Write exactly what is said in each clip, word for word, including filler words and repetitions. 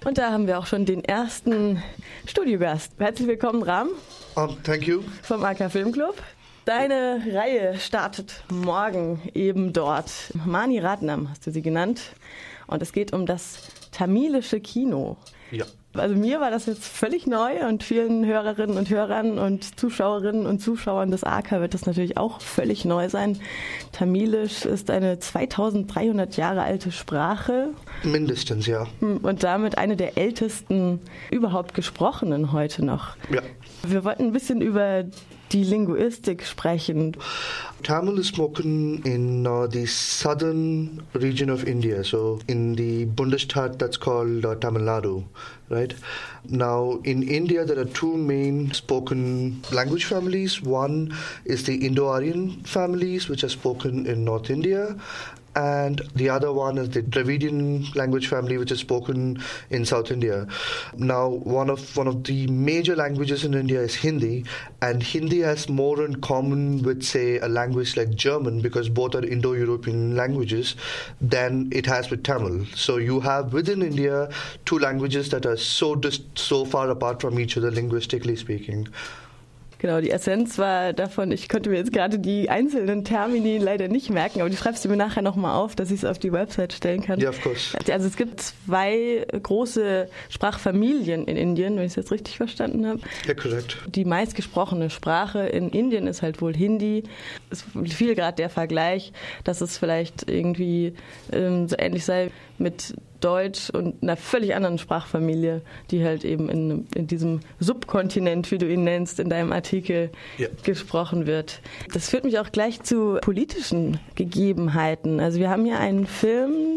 Und da haben wir auch schon den ersten Studiogast. Herzlich willkommen, Ram. Um, thank you. Vom A K Filmclub. Deine Reihe startet morgen eben dort. Mani Ratnam hast du sie genannt. Und es geht um das tamilische Kino. Ja. Also mir war das jetzt völlig neu und vielen Hörerinnen und Hörern und Zuschauerinnen und Zuschauern des A K wird das natürlich auch völlig neu sein. Tamilisch ist eine zweitausenddreihundert Jahre alte Sprache. Mindestens, ja. Und damit eine der ältesten überhaupt gesprochenen heute noch. Ja. Wir wollten ein bisschen über die Linguistik sprechen. Tamil is spoken in uh, the southern region of India, so in the Bundesstaat that's called uh, Tamil Nadu, right? Now, in India, there are two main spoken language families. One is the Indo-Aryan families, which are spoken in North India, and the other one is the Dravidian language family, which is spoken in South India. Now, one of one of the major languages in India is Hindi, and Hindi has more in common with, say, a language like German, because both are Indo-European languages, than it has with Tamil. So you have within India two languages that are so dis- so far apart from each other, linguistically speaking. Genau, die Essenz war davon, ich konnte mir jetzt gerade die einzelnen Termini leider nicht merken, aber die schreibst du mir nachher nochmal auf, dass ich es auf die Website stellen kann. Ja, yeah, of course. Also es gibt zwei große Sprachfamilien in Indien, wenn ich es jetzt richtig verstanden habe. Ja, yeah, korrekt. Die meistgesprochene Sprache in Indien ist halt wohl Hindi. Es fiel gerade der Vergleich, dass es vielleicht irgendwie ähm, so ähnlich sei mit Deutsch und einer völlig anderen Sprachfamilie, die halt eben in, in diesem Subkontinent, wie du ihn nennst, in deinem Artikel ja. gesprochen wird. Das führt mich auch gleich zu politischen Gegebenheiten. Also wir haben hier einen Film,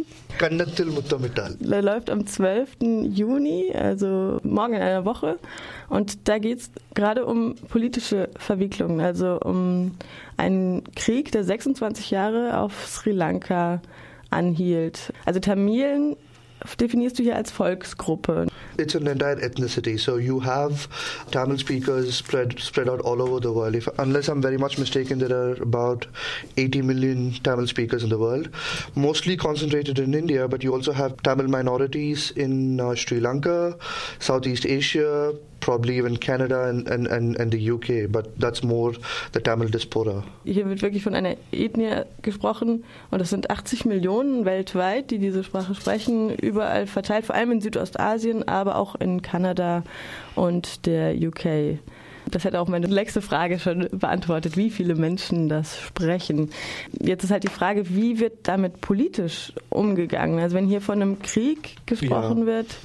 der läuft am zwölften Juni, also morgen in einer Woche. Und da geht es gerade um politische Verwicklungen, also um einen Krieg, der sechsundzwanzig Jahre auf Sri Lanka anhielt. Also Tamilen definierst du hier als Volksgruppe? It's an entire ethnicity. So you have Tamil speakers spread spread out all over the world. If, unless I'm very much mistaken, there are about eighty million Tamil speakers in the world, mostly concentrated in India, but you also have Tamil minorities in uh, Sri Lanka, Southeast Asia, probably even Canada and, and, and, and the U K, but that's more the Tamil diaspora. Hier wird wirklich von einer Ethnie gesprochen und es sind achtzig Millionen weltweit, die diese Sprache sprechen, überall verteilt, vor allem in Südostasien, aber auch in Kanada und der U K. Das hätte auch meine nächste Frage schon beantwortet, wie viele Menschen das sprechen. Jetzt ist halt die Frage, wie wird damit politisch umgegangen? Also wenn hier von einem Krieg gesprochen yeah. wird.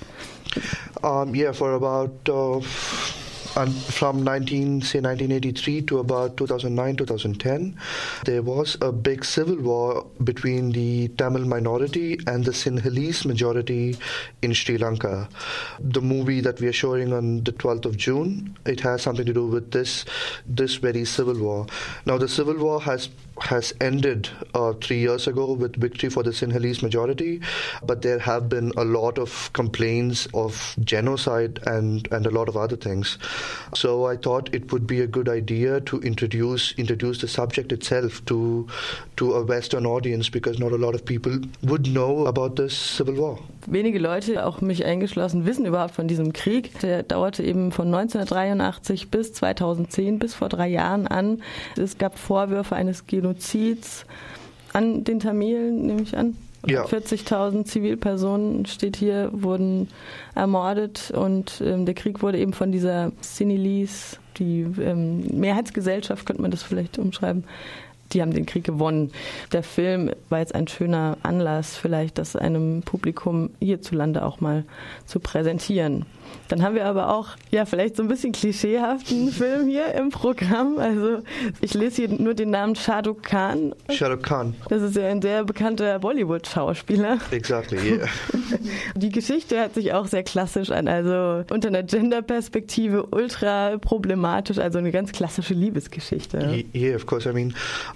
Um, yeah, for about uh, and from nineteen say nineteen eighty-three to about two thousand nine two thousand ten, there was a big civil war between the Tamil minority and the Sinhalese majority in Sri Lanka. The movie that we are showing on the twelfth of June, it has something to do with this this very civil war. Now the civil war has has ended uh, three years ago with victory for the Sinhalese majority, but there have been a lot of complaints of genocide and, and a lot of other things. So I thought it would be a good idea to introduce introduce the subject itself to to a Western audience, because not a lot of people would know about this civil war. Wenige Leute, auch mich eingeschlossen, wissen überhaupt von diesem Krieg. Der dauerte eben von neunzehnhundertdreiundachtzig bis zweitausendzehn, bis vor drei Jahren an. Es gab Vorwürfe eines Genozids an den Tamilen, nehme ich an. Ja. vierzigtausend Zivilpersonen, steht hier, wurden ermordet und ähm, der Krieg wurde eben von dieser Sinhalese, die ähm, Mehrheitsgesellschaft, könnte man das vielleicht umschreiben, die haben den Krieg gewonnen. Der Film war jetzt ein schöner Anlass, vielleicht das einem Publikum hierzulande auch mal zu präsentieren. Dann haben wir aber auch, ja, vielleicht so ein bisschen klischeehaften Film hier im Programm. Also ich lese hier nur den Namen Shah Rukh Khan. Shah Rukh Khan. Das ist ja ein sehr bekannter Bollywood-Schauspieler. Exactly, yeah. Die Geschichte hört sich auch sehr klassisch an, also unter einer Gender-Perspektive ultra problematisch, also eine ganz klassische Liebesgeschichte. Yeah, of course. I mean,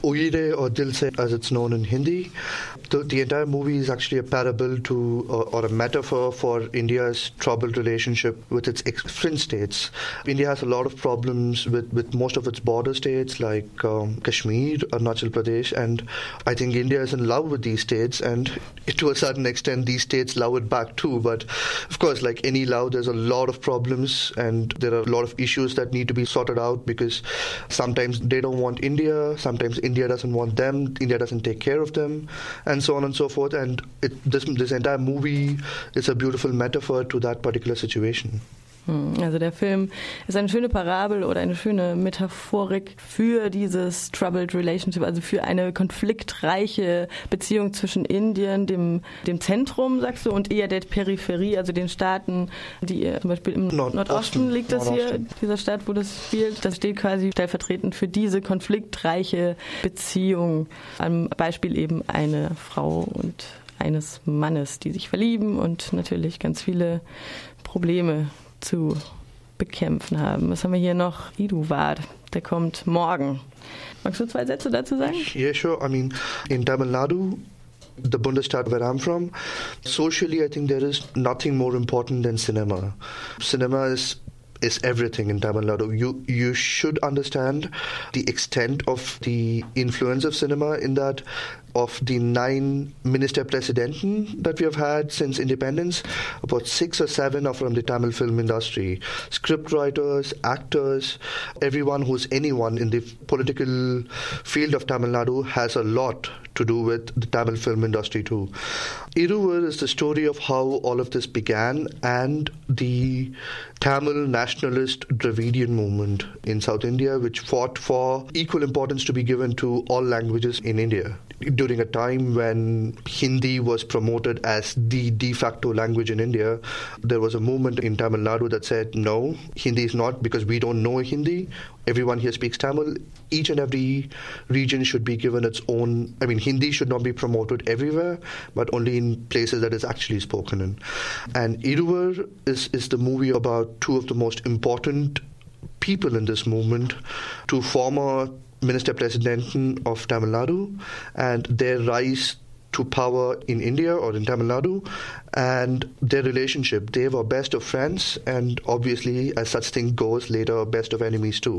Uyire or Dil Se, as it's known in Hindi. The, the entire movie is actually a parable to or, or a metaphor for India's troubled relationship with its different states. India has a lot of problems with, with most of its border states like um, Kashmir, Arunachal Pradesh, and I think India is in love with these states, and to a certain extent these states love it back too. But of course, like any love, there's a lot of problems and there are a lot of issues that need to be sorted out, because sometimes they don't want India, sometimes India doesn't want them, India doesn't take care of them, and so on and so forth. And it, this, this entire movie is a beautiful metaphor to that particular situation. Also der Film ist eine schöne Parabel oder eine schöne Metaphorik für dieses Troubled Relationship, also für eine konfliktreiche Beziehung zwischen Indien, dem, dem Zentrum, sagst du, und eher der Peripherie, also den Staaten, die zum Beispiel im Nord- Nordosten liegt das hier, dieser Staat, wo das spielt. Das steht quasi stellvertretend für diese konfliktreiche Beziehung. Am Beispiel eben eine Frau und eines Mannes, die sich verlieben und natürlich ganz viele Probleme zu bekämpfen haben. Was haben wir hier noch? Iduvad, der kommt morgen. Magst du zwei Sätze dazu sagen? Yeah, sure. I mean, in Tamil Nadu, the Bundesstaat where I'm from, socially I think there is nothing more important than cinema. Cinema is is everything in Tamil Nadu. You you should understand the extent of the influence of cinema in that. Of the nine Ministerpräsidenten that we have had since independence, about six or seven are from the Tamil film industry. Scriptwriters, actors, everyone who's anyone in the political field of Tamil Nadu has a lot to do with the Tamil film industry too. Iruvar is the story of how all of this began and the Tamil nationalist Dravidian movement in South India, which fought for equal importance to be given to all languages in India. During a time when Hindi was promoted as the de facto language in India, there was a movement in Tamil Nadu that said, no, Hindi is not, because we don't know Hindi. Everyone here speaks Tamil. Each and every region should be given its own, I mean, Hindi should not be promoted everywhere, but only in places that it's actually spoken in. And Iruvar is, is the movie about two of the most important people in this movement, two former Ministerpräsidenten of Tamil Nadu, and their rise to power in India or in Tamil Nadu, and their relationship. They were best of friends, and obviously, as such thing goes, later best of enemies too.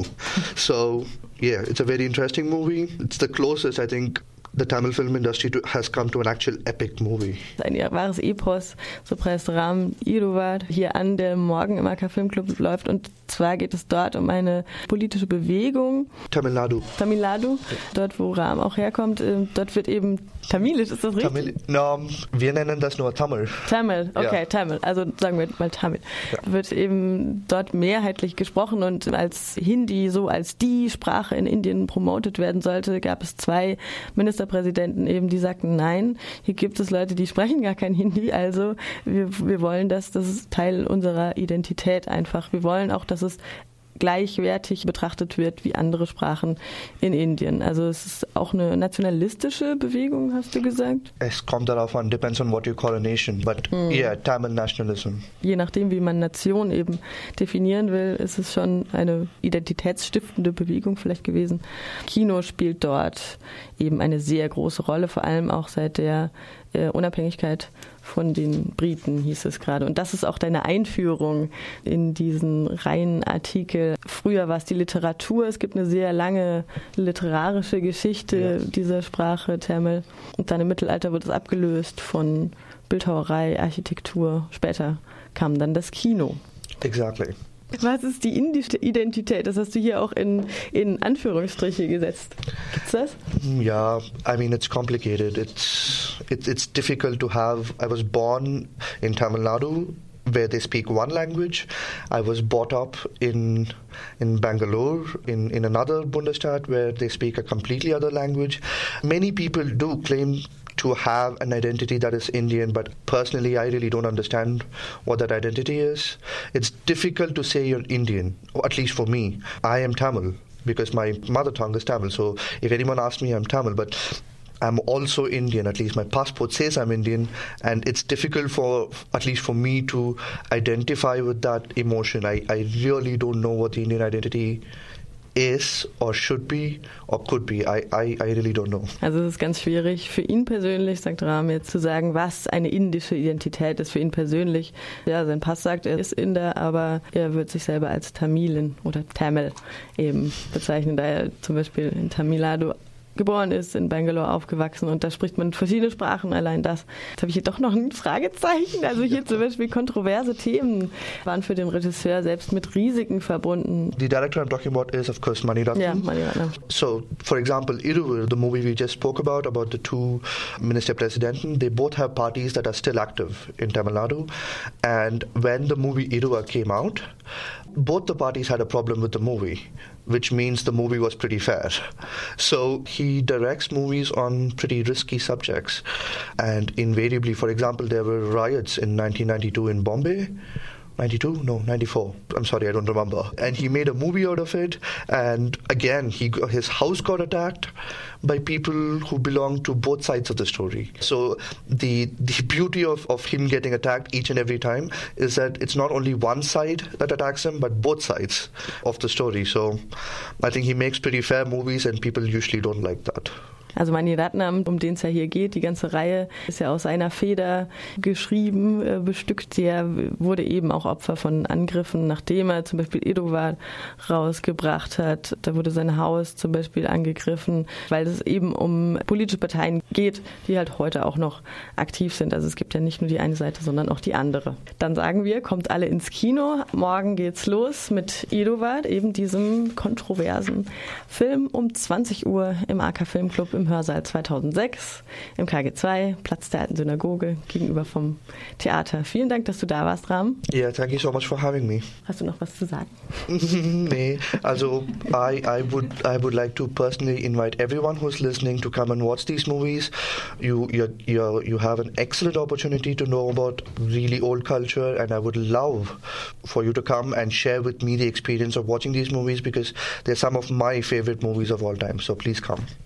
So, yeah, it's a very interesting movie. It's the closest, I think, the Tamil film industry to, has come to an actual epic movie. Ein wahres Epos, so preist Ram Iruvad hier an, der morgen im A K Filmclub läuft. Und zwar geht es dort um eine politische Bewegung. Tamil Nadu. Tamil Nadu, dort wo Ram auch herkommt. Dort wird eben Tamilisch, ist das richtig? Tamil, no, wir nennen das nur Tamil. Tamil, okay, ja. Tamil, also sagen wir mal Tamil. Ja. Wird eben dort mehrheitlich gesprochen, und als Hindi so als die Sprache in Indien promotet werden sollte, gab es zwei Ministerpräsidenten eben, die sagten, nein, hier gibt es Leute, die sprechen gar kein Hindi, also wir, wir wollen das, das ist Teil unserer Identität einfach. Wir wollen auch, dass es gleichwertig betrachtet wird wie andere Sprachen in Indien. Also es ist auch eine nationalistische Bewegung, hast du gesagt? Es kommt darauf an, depends on what you call a nation, but mm. yeah, Tamil nationalism. Je nachdem, wie man Nation eben definieren will, ist es schon eine identitätsstiftende Bewegung vielleicht gewesen. Kino spielt dort eben eine sehr große Rolle, vor allem auch seit der äh, Unabhängigkeit von den Briten, hieß es gerade. Und das ist auch deine Einführung in diesen Reihenartikel. Früher war es die Literatur. Es gibt eine sehr lange literarische Geschichte ja. dieser Sprache, Tamil. Und dann im Mittelalter wurde es abgelöst von Bildhauerei, Architektur. Später kam dann das Kino. Exactly. Was ist die indische Identität? Das hast du hier auch in, in Anführungsstriche gesetzt. Gibt's das? Yeah, I mean, it's complicated. It's, it's, it's difficult to have... I was born in Tamil Nadu, where they speak one language. I was brought up in in Bangalore, in, in another Bundesstaat, where they speak a completely other language. Many people do claim to have an identity that is Indian, but personally I really don't understand what that identity is. It's difficult to say you're Indian, or at least for me. I am Tamil, because my mother tongue is Tamil, so if anyone asks me, I'm Tamil, but I'm also Indian, at least my passport says I'm Indian, and it's difficult for, at least for me, to identify with that emotion. I, I really don't know what the Indian identity is or should be or could be. I, I, I really don't know. Also es ist ganz schwierig für ihn persönlich, sagt Ram, jetzt zu sagen, was eine indische Identität ist für ihn persönlich. Ja, sein Pass sagt, er ist Inder, aber er wird sich selber als Tamilin oder Tamil eben bezeichnen, da er zum Beispiel in Tamil Nadu geboren ist, in Bangalore aufgewachsen und da spricht man verschiedene Sprachen, allein das. Jetzt habe ich hier doch noch ein Fragezeichen. Also hier zum Beispiel kontroverse Themen waren für den Regisseur selbst mit Risiken verbunden. The director I'm talking about is of course Mani Ratnam. Ja, Mani Ratnam. So, for example, Iruvur, the movie we just spoke about, about the two Minister-Presidenten, they both have parties that are still active in Tamil Nadu. And when the movie Iruvur came out, both the parties had a problem with the movie, which means the movie was pretty fair. So he directs movies on pretty risky subjects. And invariably, for example, there were riots in nineteen ninety-two in Bombay. ninety-two? No, ninety-four. I'm sorry, I don't remember. And he made a movie out of it. And again, he his house got attacked by people who belong to both sides of the story. So the the beauty of, of him getting attacked each and every time is that it's not only one side that attacks him, but both sides of the story. So I think he makes pretty fair movies and people usually don't like that. Also Mani Ratnam, um den es ja hier geht, die ganze Reihe ist ja aus einer Feder geschrieben, äh, bestückt. Der wurde eben auch Opfer von Angriffen, nachdem er zum Beispiel Iruvur rausgebracht hat. Da wurde sein Haus zum Beispiel angegriffen, weil es eben um politische Parteien geht, die halt heute auch noch aktiv sind. Also es gibt ja nicht nur die eine Seite, sondern auch die andere. Dann sagen wir, kommt alle ins Kino. Morgen geht's los mit Iruvur, eben diesem kontroversen Film um zwanzig Uhr im A K Filmclub im Hörsaal zweitausendsechs, im K G zwei, Platz der Alten Synagoge, gegenüber vom Theater. Vielen Dank, dass du da warst, Ram. Yeah, thank you so much for having me. Hast du noch was zu sagen? Nee, also I, I would I would like to personally invite everyone who's listening to come and watch these movies. You you you you have an excellent opportunity to know about really old culture, and I would love for you to come and share with me the experience of watching these movies because they're some of my favorite movies of all time. So please come.